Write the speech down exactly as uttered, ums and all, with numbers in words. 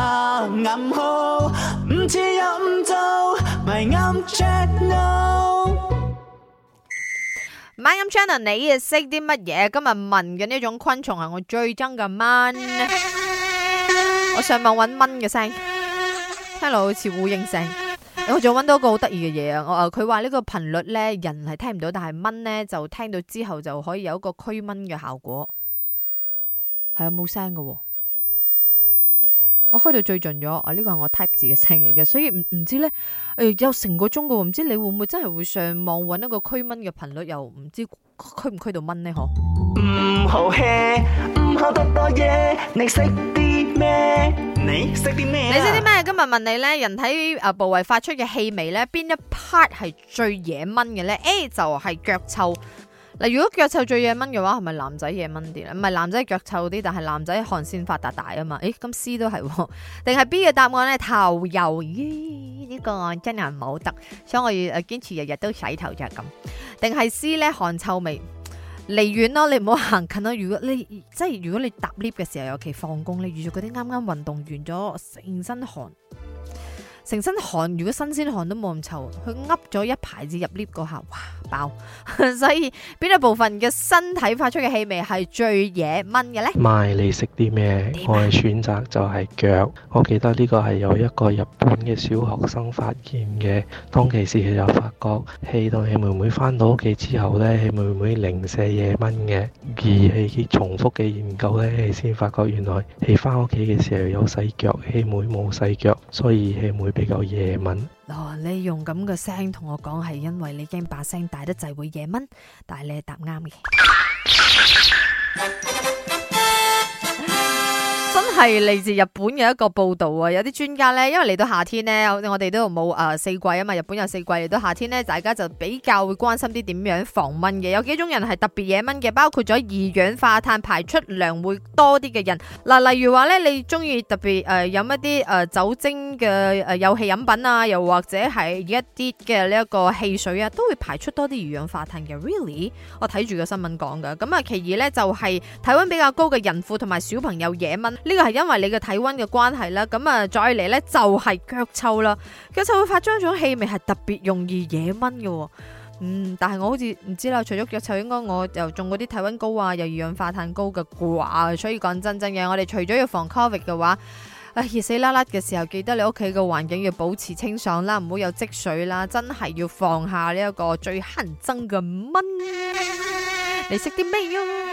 下暗號，唔似又唔做，咪啱 channel。 My channel 你又識啲乜嘢？今日問嘅呢種昆蟲係我最憎嘅蚊。我上網揾蚊嘅聲，聽落好似烏蠅聲。我仲揾到一個好得意嘅嘢啊！我佢話呢個頻率咧，人係聽唔到，但係蚊咧就聽到之後就可以有一個驅蚊嘅效果。係啊，冇聲嘅。我開到最盡咗，啊呢個係我 type 字嘅聲嚟嘅，所以唔唔知咧，誒有成個鐘嘅，唔知你會唔會真係會上網揾一個驅蚊嘅頻率，又唔知驅唔驅到蚊呢？嗬？ 唔好 hea， 唔好多多嘢，你識啲咩？你識啲咩？ 你識啲咩？今日問你咧，人體誒部位發出嘅氣味咧，邊一 part 係最惹蚊嘅咧 ？A 就係腳臭。嗱，如果腳臭最惹蚊嘅話，係咪男仔惹蚊啲咧？唔係男仔腳臭啲，但係男仔汗腺發達大啊嘛。誒，咁 C 都係，定係 B 嘅答案咧？頭油，咦？呢個真係唔好得，所以我要誒堅持日日都洗頭就係咁。定係 C 咧？汗臭味，離遠咯，你唔好行近咯。如果你即係如果你搭 lift 嘅時候，尤其放工，你遇住嗰啲啱啱運動完咗，成身汗。成身汗，如果新鮮汗都冇咁臭，佢噏咗一排至入 lift 嗰下，哇爆！所以邊一部分嘅身體發出嘅氣味係最惹蚊嘅呢？ 咪你識啲咩？我嘅選擇就係腳。我記得呢個係有一個日本嘅小學生發現嘅，當其時佢就發覺氣到氣妹妹返到屋企之後呢，氣妹妹零舍惹蚊嘅，而係重複嘅研究呢，氣先發覺原來氣返屋企嘅時候有細腳，氣妹冇細腳，所以氣妹比較惹蚊。 哦，你用咁嘅聲同我講係因為你驚把聲大得滯會惹蚊，但係你係答啱嘅。真係嚟自日本嘅一個報道啊！有啲專家呢，因為嚟到夏天呢，我哋都冇誒四季啊嘛，日本有四季，嚟到夏天呢，大家就比較會關心啲點樣防蚊嘅。有幾種人係特別惹蚊嘅，包括咗二氧化碳排出量會多啲嘅人。嗱，例如話呢，你中意特別誒飲一啲誒酒精嘅誒有氣飲品啊，又或者係一啲嘅呢一個汽水啊，都會排出多啲二氧化碳嘅。Really？我睇住個新聞講噶。咁啊，其二呢，就係體溫比較高嘅孕婦同埋小朋友惹蚊。呢個係因為你嘅體溫嘅關係啦，咁啊再嚟呢，就係腳臭啦，腳臭會發出一種氣味係特別容易惹蚊嘅，嗯，但係我好似唔知啦，除咗腳臭，應該我又中嗰啲體溫高啊，又二氧化碳高嘅啩，所以講真真嘅，我哋除咗要防 Covid 嘅話，啊熱死啦啦嘅時候，記得你屋企嘅環境要保持清爽啦，唔好有積水啦，真係要放下呢一個最乞人憎嘅蚊，你識啲咩啊？